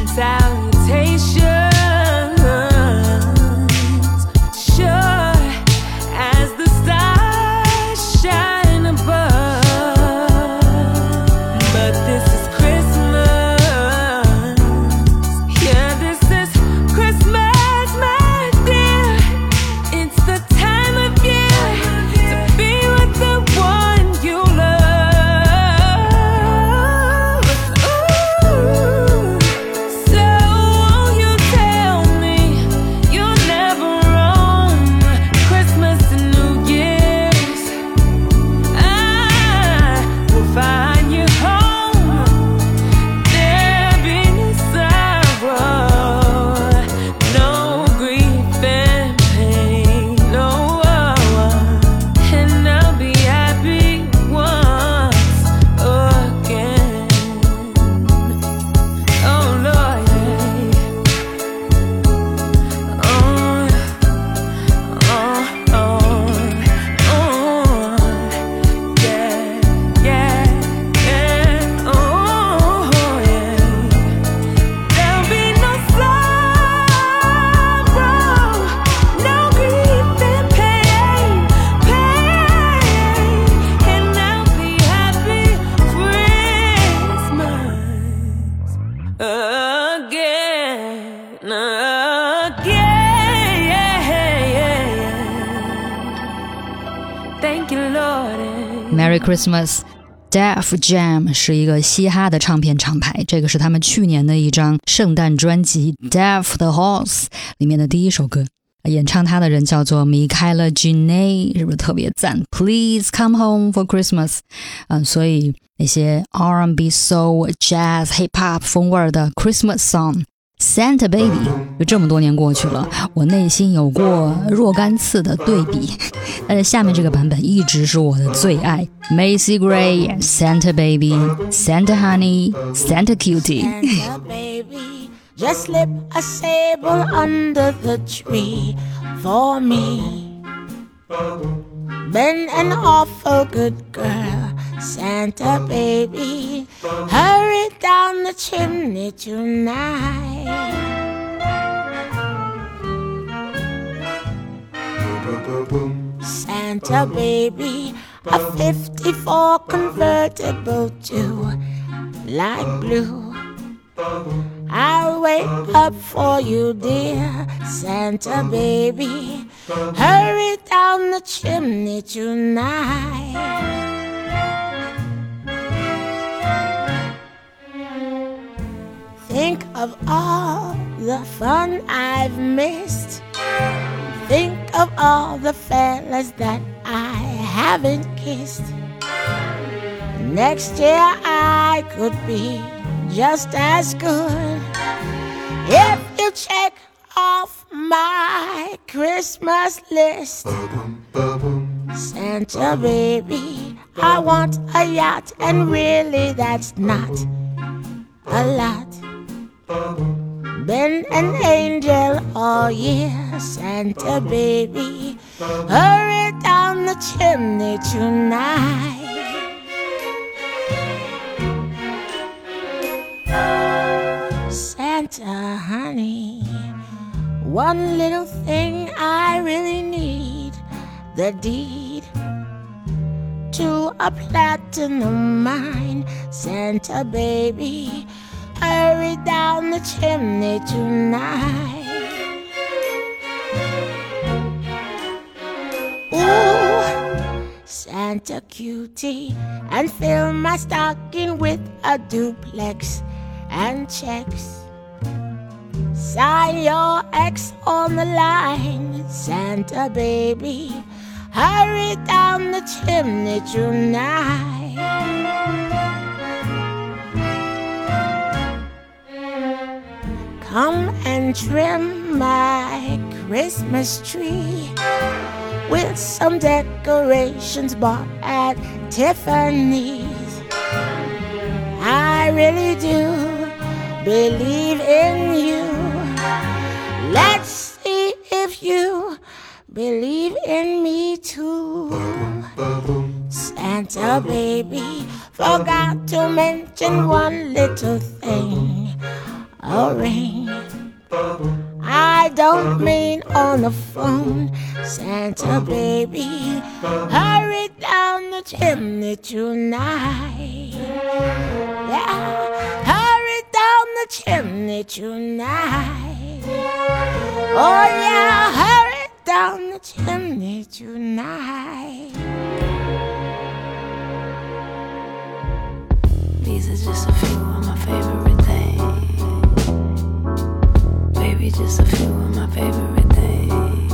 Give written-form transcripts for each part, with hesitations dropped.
salutations, sure as the stars shine above. But this is Christmas, yeah, this is Christmas, my dear. It's the time of year to be with the one you love. Ooh, so won't you tell me you'll never roam Christmas and New Year's? I will find you home. There'll be no sorrow, no grief and pain, no, and I'll be happy once again. Oh Lord, yeah, oh yeah. There'll be no sorrow, no grief and pain, and I'll be happy Christmas again. Thank you, Lord. Merry Christmas Def Jam 是一个嘻哈的唱片厂牌，这个是他们去年的一张圣诞专辑 Def the Horse 里面的第一首歌，演唱它的人叫做 Michaela Giney， 是不是特别赞？ Please come home for Christmas，所以那些 R&B Soul Jazz Hip Hop 风味的 Christmas Song Santa Baby， 就这么多年过去了，我内心有过若干次的对比，但是下面这个版本一直是我的最爱。 Macy Gray Santa Baby Santa Honey Santa Cutie Santa baby, just slip a sable under the tree for me. Been an awful good girl, Santa baby, hurry down the chimney tonight. Santa baby, a 54 convertible to light blue. I'll wait up for you, dear Santa baby, hurry down the chimney tonight. Think of all the fun I've missed. Think of all the fellas that I haven't kissed. Next year I could be just as good if you check off my Christmas list. Santa baby, I want a yacht, and really that's not a lot. Been an angel all year, Santa baby, hurry down the chimney tonight. Santa honey, one little thing I really need, the deed to a platinum mine. Santa baby, hurry down the chimney tonight. Ooh, Santa cutie, and fill my stocking with a duplex and checks. Sign your ex on the line, Santa baby, hurry down the chimney tonight. Come and trim my Christmas tree with some decorations bought at Tiffany's. I really do believe in you. Let's see if you believe in me too. Santa baby, forgot to mention one little thing, a ring. I don't mean on the phone. Santa baby, hurry down the chimney tonight. Yeah, hurry down the chimney tonight. Oh yeah, hurry down the chimney tonight. These are just a few of my favorite things. Baby, just a few of my favorite things.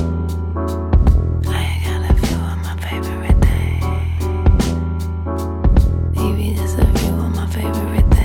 I ain't got a few of my favorite things. Baby, just a few of my favorite things.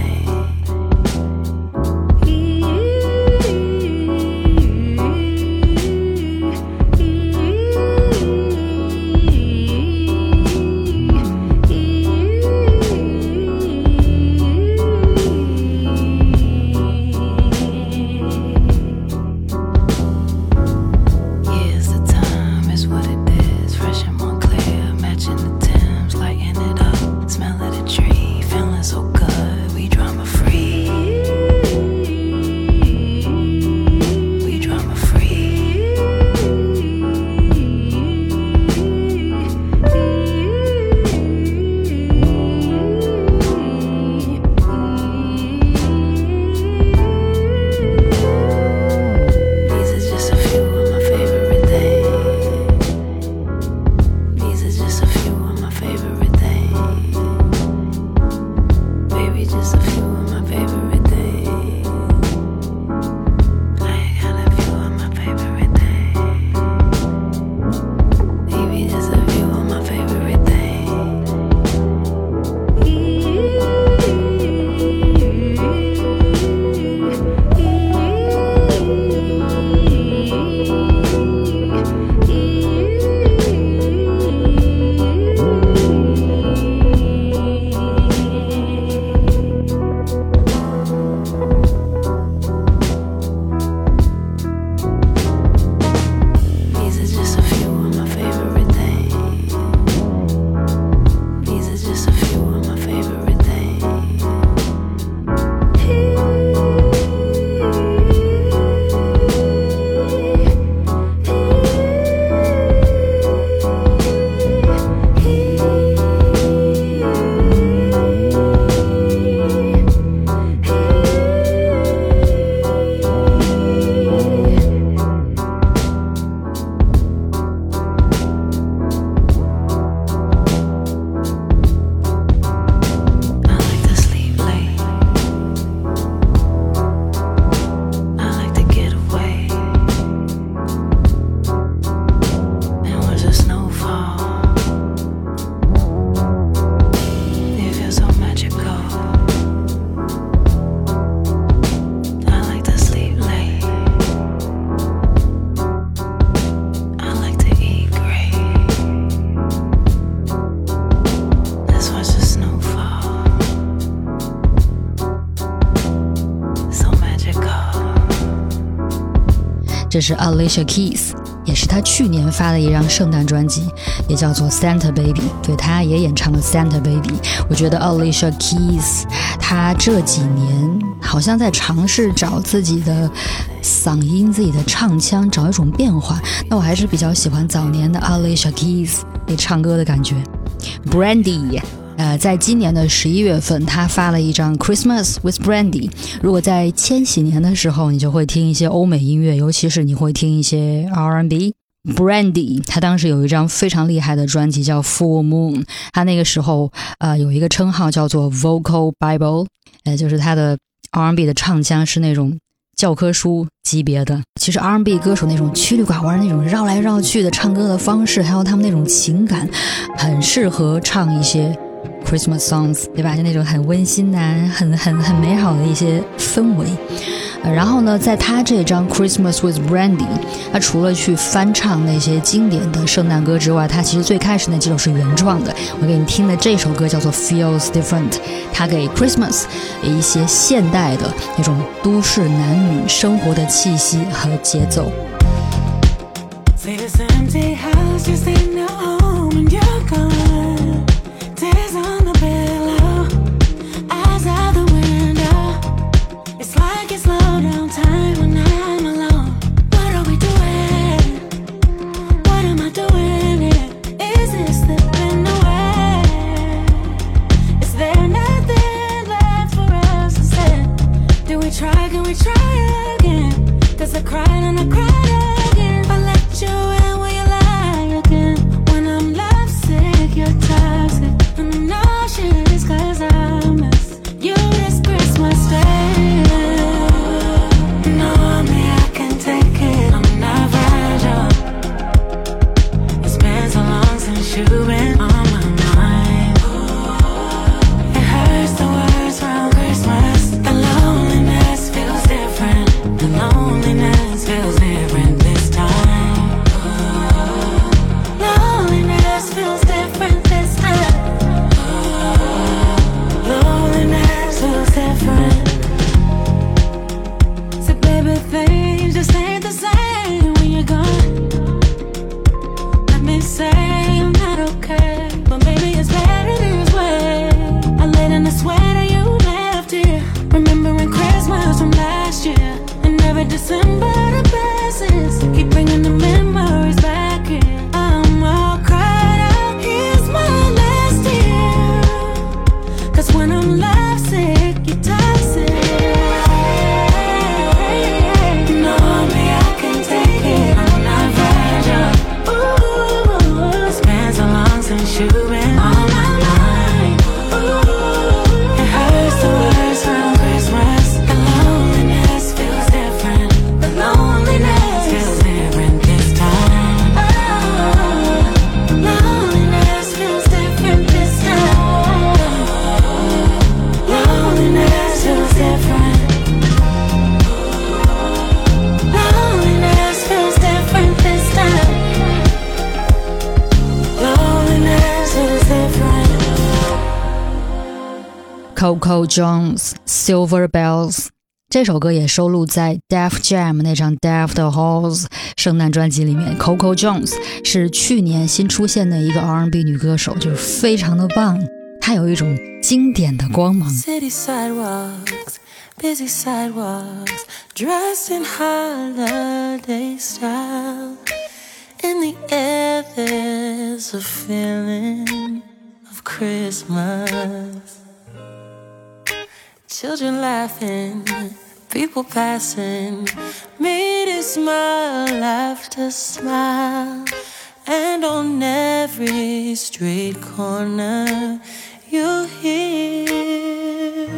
这是 Alicia Keys， 也是她去年发的一张圣诞专辑，也叫做 Santa Baby， 对，她也演唱了 Santa Baby。 我觉得 Alicia Keys 她这几年好像在尝试找自己的嗓音，自己的唱腔，找一种变化。那我还是比较喜欢早年的 Alicia Keys 那唱歌的感觉。 Brandy在今年的11月份，他发了一张 Christmas with Brandy。 如果在千禧年的时候，你就会听一些欧美音乐，尤其是你会听一些 R&B。 Brandy 他当时有一张非常厉害的专辑叫 Full Moon， 他那个时候有一个称号叫做 Vocal Bible， 就是他的 R&B 的唱腔是那种教科书级别的。其实 R&B 歌手那种曲里拐弯那种绕来绕去的唱歌的方式，还有他们那种情感，很适合唱一些Christmas songs， 对吧？就那种很温馨的、很美好的一些氛围。然后呢，在他这张 Christmas with Brandy， 他除了去翻唱那些经典的圣诞歌之外，他其实最开始那几首是原创的。我给你听的这首歌叫做 Feels Different， 他给 Christmas 一些现代的那种都市男女生活的气息和节奏。 See this empty house, just ain't no home when you're gone. Tears on the pillow, eyes out the window. It's like it's try again. Cause I cried and I cried again. I let you in, will you lie again? When I'm lovesick, you're toxic. And I know shit is cause I miss you this Christmas Day. Know me, I can take it, I'm not fragile. It's been so long since you've been on my mind. It hurts the words around Christmas. The loneliness feels different. The loneliness feels different this time. Loneliness feels different this time. Loneliness feels different. So baby, things just ain't the same when you're gone. Let me say I'm not okay, but maybe it's better this way. I laid in the sweater you left here, remembering Christmas from last year. And every December the passes keep bringing the memories back here. I'm all cried out, here's my last tear. Cause when I'm lovesick, you're toxic. Know me, I can take it, I'm not fragile. Ooh, it's been so long since you've been on my mind. Ooh, it hurts the words around Christmas. The loneliness feels different. The loneliness feels different this time. Oh, loneliness feels different this time. Loneliness feels different. Loneliness feels different this time. Loneliness feels different. Coco Jones Silver Bells 这首歌也收录在 Def Jam 那张 Def the Halls 圣诞专辑里面。 Coco Jones 是去年新出现的一个 R&B 女歌手，就是非常的棒，她有一种经典的光芒。 City sidewalks, busy sidewalks, dressed in holiday style. In the air there's a feeling of Christmas. Children laughing, people passing, me to smile after smile. And on every street corner you hear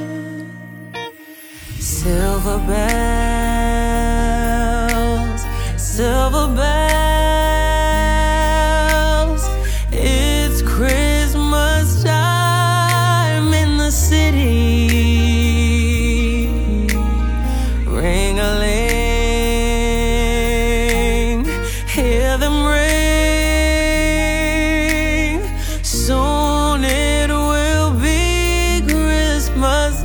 silver bells, silver bells. It's Christmas time in the city. Ring-a-ling, hear them ring. Soon it will be Christmas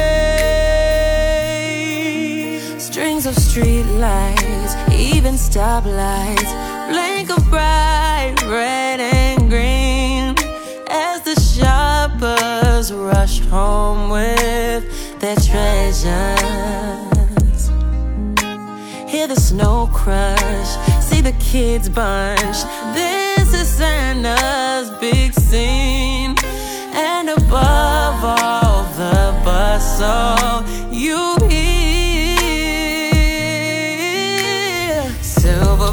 Day. Strings of street lights, even stoplights, blink of bright red and green as the shoppers rush home with their treasures. Hear the snow crush, see the kids bunch. This is Santa's big scene. And above all the bustle, you hear silver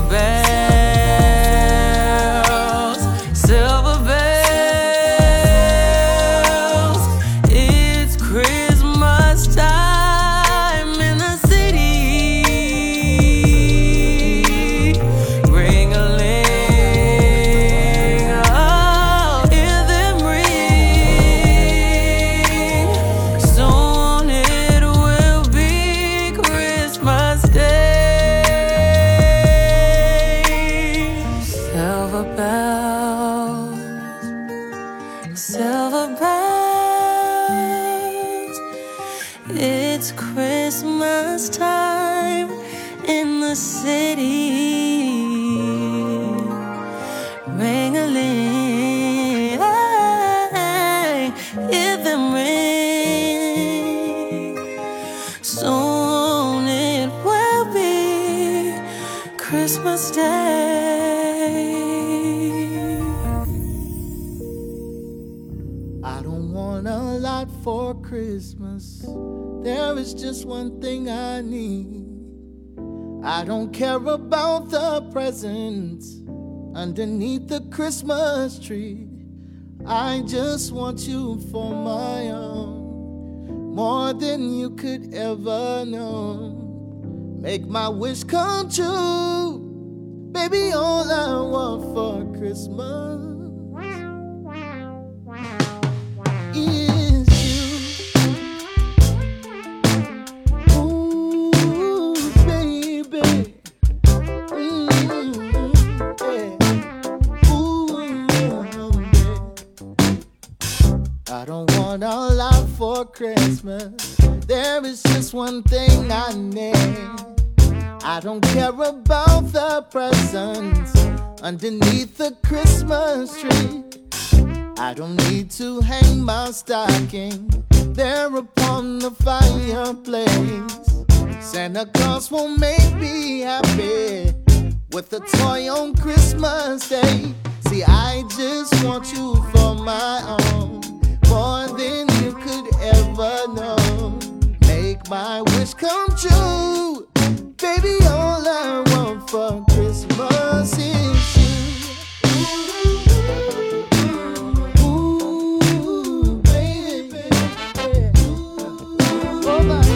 bells, silver bells. It's Christmas time in the city. Ring-a-ling, oh, hear them ring. Soon it will be Christmas Day. Silver bells, silver bells. It's Christmas time in the city. Ring-a-ling, hear them ring. Soon it will be Christmas Day. I don't want a lot for Christmas. there is just one thing I need. I don't care about the presents underneath the Christmas tree. I just want you for my own, more than you could ever know. Make my wish come true, baby, all I want for Christmas is you. Ooh, baby. Yeah. Ooh, yeah. I don't want a lot for Christmas. There is just one thing I need. I don't care about the presents underneath the Christmas tree. I don't need to hang my stocking there upon the fireplace. Santa Claus won't make me happy with a toy on Christmas Day. See, I just want you for my own, more than you could ever know. Make my wish come true, baby, all I want for Christmas is you. Ooh, baby. Oh, my.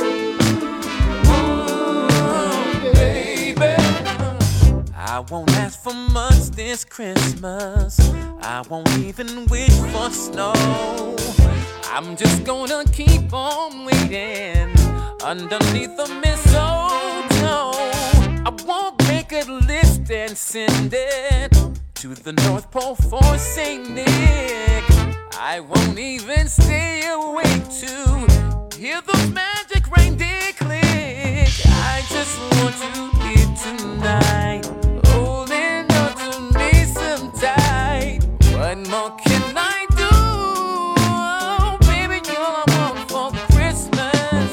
Ooh, baby. I won't ask for much this Christmas. I won't even wish for snow. I'm just gonna keep on waiting underneath the mistletoe. I won't make a list and send it to the North Pole for St. Nick. I won't even stay awake to hear those magic reindeer click. I just want you here tonight, holding on to me so tight. What more can I do? Oh, baby, you're all I want for Christmas.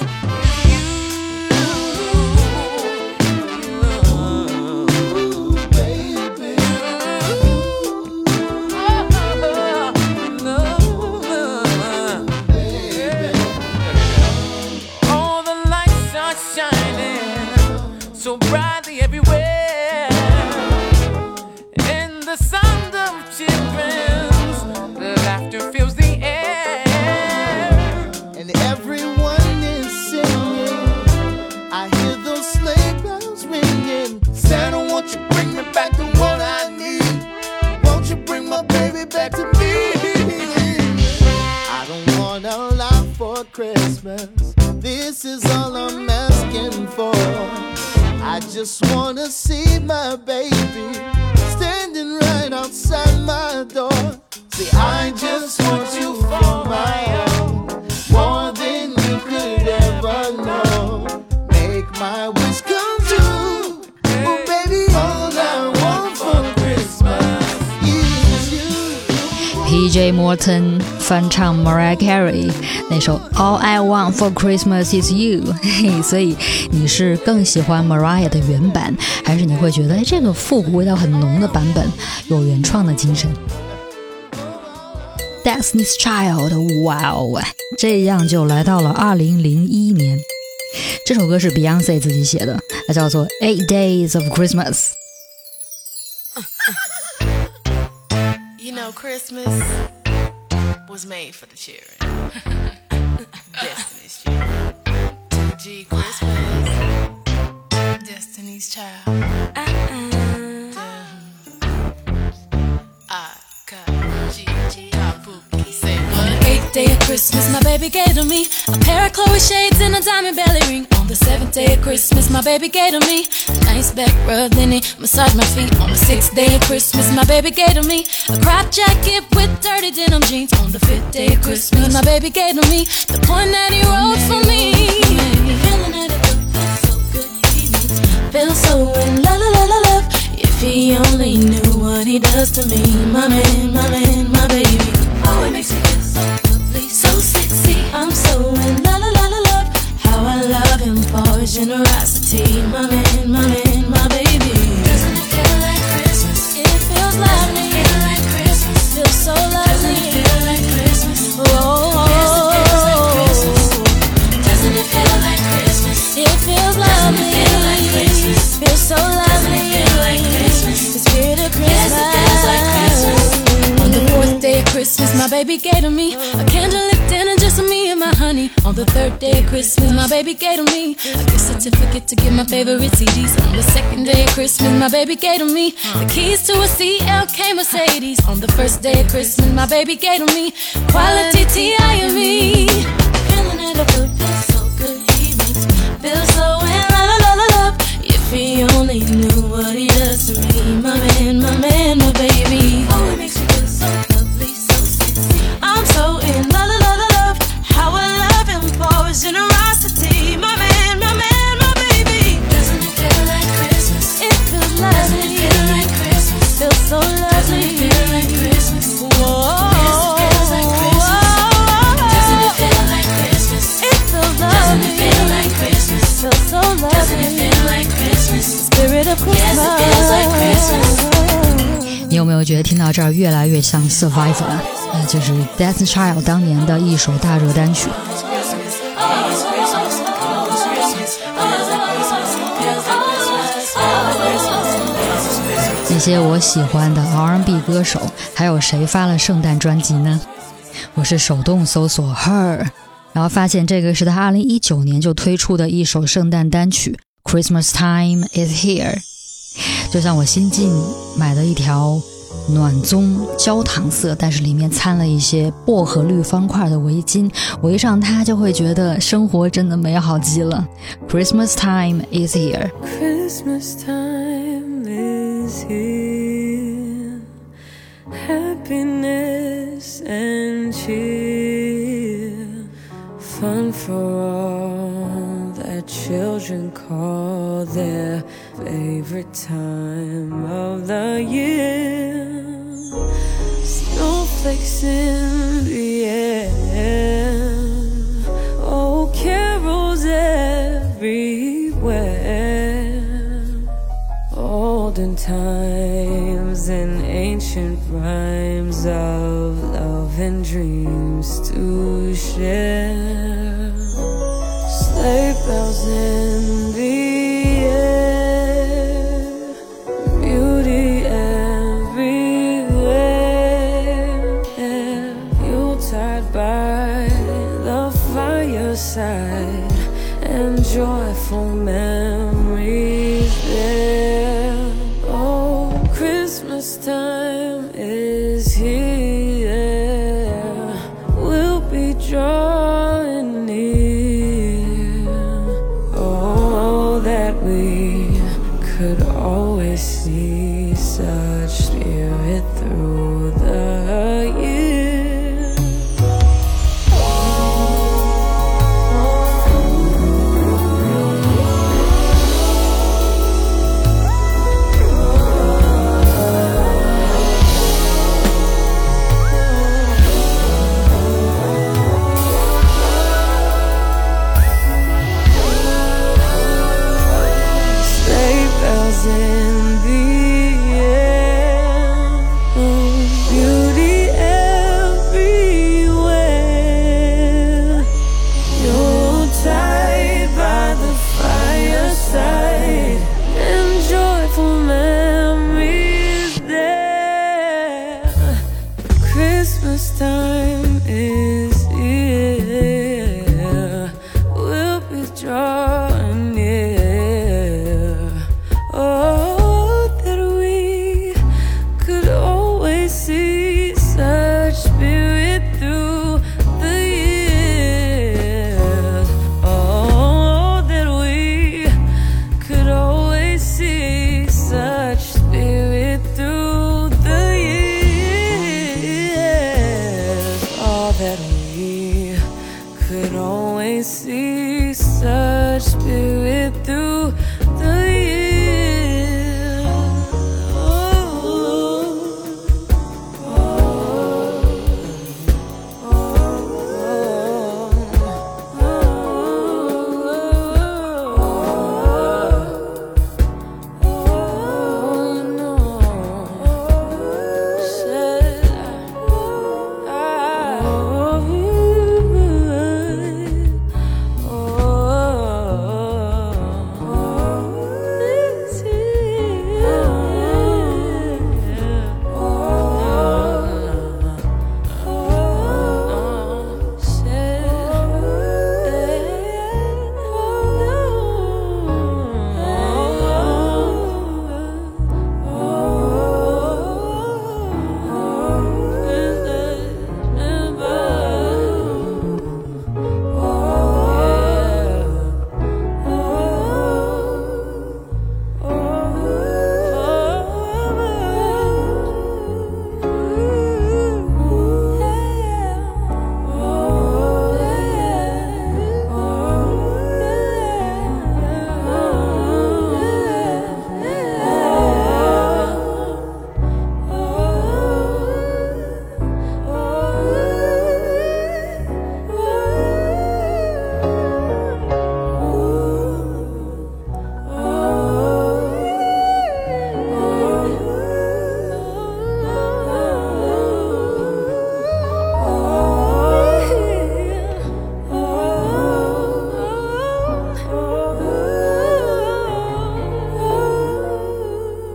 So brightly everywhere, and the sound of children's laughter fills the air, and everyone is singing. I hear those sleigh bells ringing. Santa, won't you bring me back to what I need? Won't you bring my baby back to me? I don't want a lot for Christmas. This is all I'm asking for. I just wanna see my baby standing right outside my door. See, I just want you for my own, more than you could ever know. Make my wish come true, oh baby, all I want for Christmas is you. PJ Morton 翻唱 Mariah Carey 那首 All I Want for Christmas is You 所以你是更喜欢 Mariah 的原版，还是你会觉得这个复古味道很浓的版本有原创的精神？ Destiny's Child， 哇哦，这样就来到了2001年。这首歌是 Beyonce 自己写的，它叫做 8 Days of Christmas。 You know, Christmas was made for the children. Destiny's Child. G Christmas. Destiny's Child. Say what? 8th day of Christmas, my baby gave to me a pair of Chloe shades and a diamond belly ring. On the 7th day of Christmas, my baby gave to me a nice back rub, then he massaged my feet. On the 6th day of Christmas, my baby gave to me a crop jacket with dirty denim jeans. On the 5th day of Christmas, my baby gave to me the poem that he wrote for me. Feeling that it feels so good, he needs feel so in love, love, love, love. If he only knew what he does to me, my man, my man, my baby. Oh, it makes me feel so lovely, so sexy. I'm so in love, love, love, love. How I love him for his generosity, my man, my man, my baby. Doesn't it feel like Christmas? It feels lovely. Doesn't it feel like Christmas? Feels so lovely. Doesn't it feel like Christmas? Oh, doesn't it lovely. Feels so lovely. The spirit of Christmas. On the fourth day of Christmas, my baby gave to me a candlelit dinner just for me and my honey. On the third day of Christmas, my baby gave to me a gift certificate to get my favorite CDs. On the second day of Christmas, my baby gave to me the keys to a CLK Mercedes. On the first day of Christmas, my baby gave to me quality T.I.M.E. Feeling it up, feels so good. He makes me feel so in love. If he only knew what he does to me, my man, my baby. Oh, it makes me feel so lovely, so sexy. I'm so in love. How I love him for his generosity, my man, my baby. Doesn't it feel like Christmas? It feels lovely. Doesn't it feel like Christmas? Feels so lovely. Doesn't it feel like Christmas? Whoa. Yes, it feels like Christmas. Doesn't it feel like Christmas? It feels lovely. Doesn't it feel like Christmas? Feels so lovely. Doesn't it feel like Christmas? Spirit of Christmas. Yes, it feels like Christmas. 你有没有觉得听到这儿越来越像 Survivor 就是 Destiny's Child 当年的一首大热单曲。那些我喜欢的 R&B 歌手还有谁发了圣诞专辑呢？我是手动搜索 Her， 然后发现这个是他2019年就推出的一首圣诞单曲 Christmas Time is Here。 就像我新近买了一条暖棕焦糖色但是里面掺了一些薄荷绿方块的围巾，围上它就会觉得生活真的美好极了。 Christmas Time is Here。 Christmas time is here, happiness and cheer, fun for all that children call their favorite time of the year. Snowflakes in the air, oh, carols everywhere. Olden times and ancient rhymes of love and dreams to share. Sleigh bells in the air, beauty everywhere. Yuletide by the fireside and joyful memories there. Oh, Christmas time is here, we'll be drawing near. Oh, that we could always see such spirit through the year. Sleigh bells in the air, beauty everywhere. Yuletide by the fireside and joyful memories there. Christmas time is here, we'll be drawing near. Oh,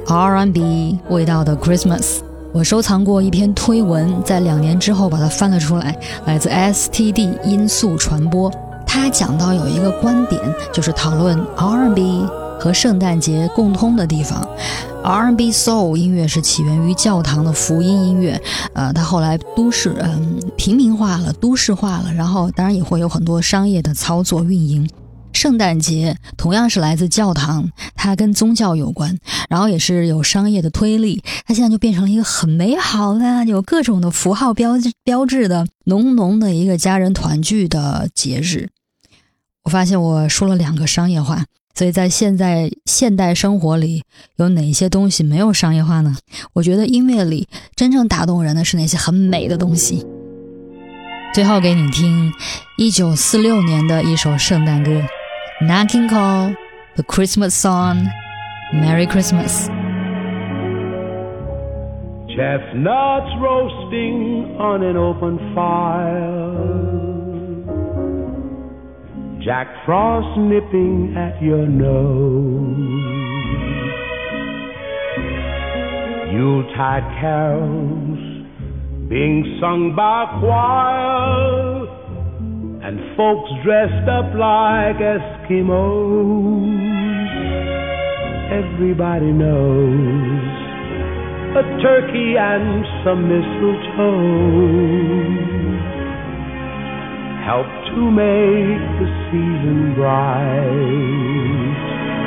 R&B 味道的 Christmas。我收藏过一篇推文，在2年之后把它翻了出来，来自 STD 音速传播。他讲到有一个观点，就是讨论 R&B 和圣诞节共通的地方。R&B Soul 音乐是起源于教堂的福音音乐，它后来平民化了，都市化了，然后当然也会有很多商业的操作运营。圣诞节同样是来自教堂，它跟宗教有关，然后也是有商业的推力，它现在就变成了一个很美好的有各种的符号标志的浓浓的一个家人团聚的节日。我发现我说了2个商业化，所以在现代生活里有哪些东西没有商业化呢？我觉得音乐里真正打动人的是那些很美的东西。最后给你听1946年的一首圣诞歌，Nat King Cole, The Christmas Song, Merry Christmas. Chestnuts roasting on an open fire, Jack Frost nipping at your nose, Yuletide carols being sung by choir, and folks dressed up like Eskimos. Everybody knows a turkey and some mistletoe help to make the season bright.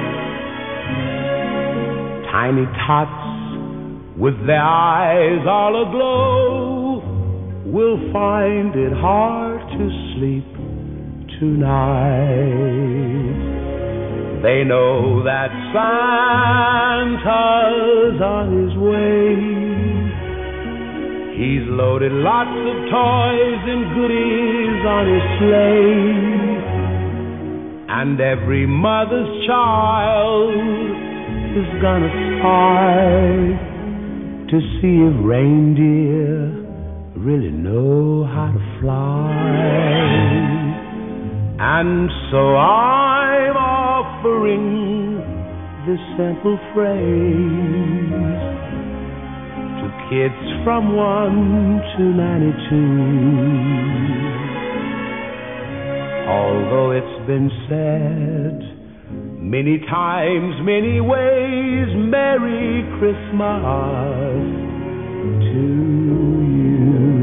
Tiny tots with their eyes all aglow will find it hard to sleep tonight. They know that Santa's on his way. He's loaded lots of toys and goodies on his sleigh, and every mother's child is gonna spy to see if reindeer really know how to fly. And so I'm offering this simple phrase to kids from 1 to 92. Although it's been said many times, many ways, Merry Christmas to you.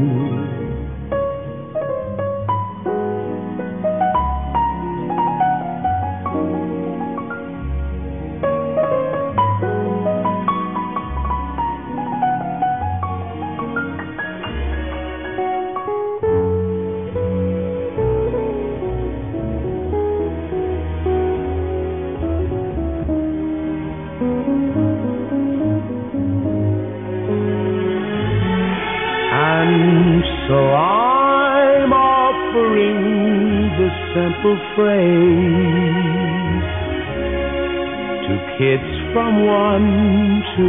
So I'm offering this simple phrase to kids from 1 to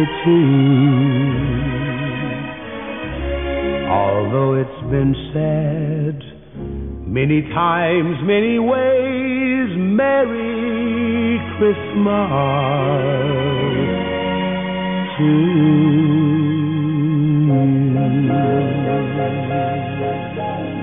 92. Although it's been said many times, many ways, Merry Christmas to you.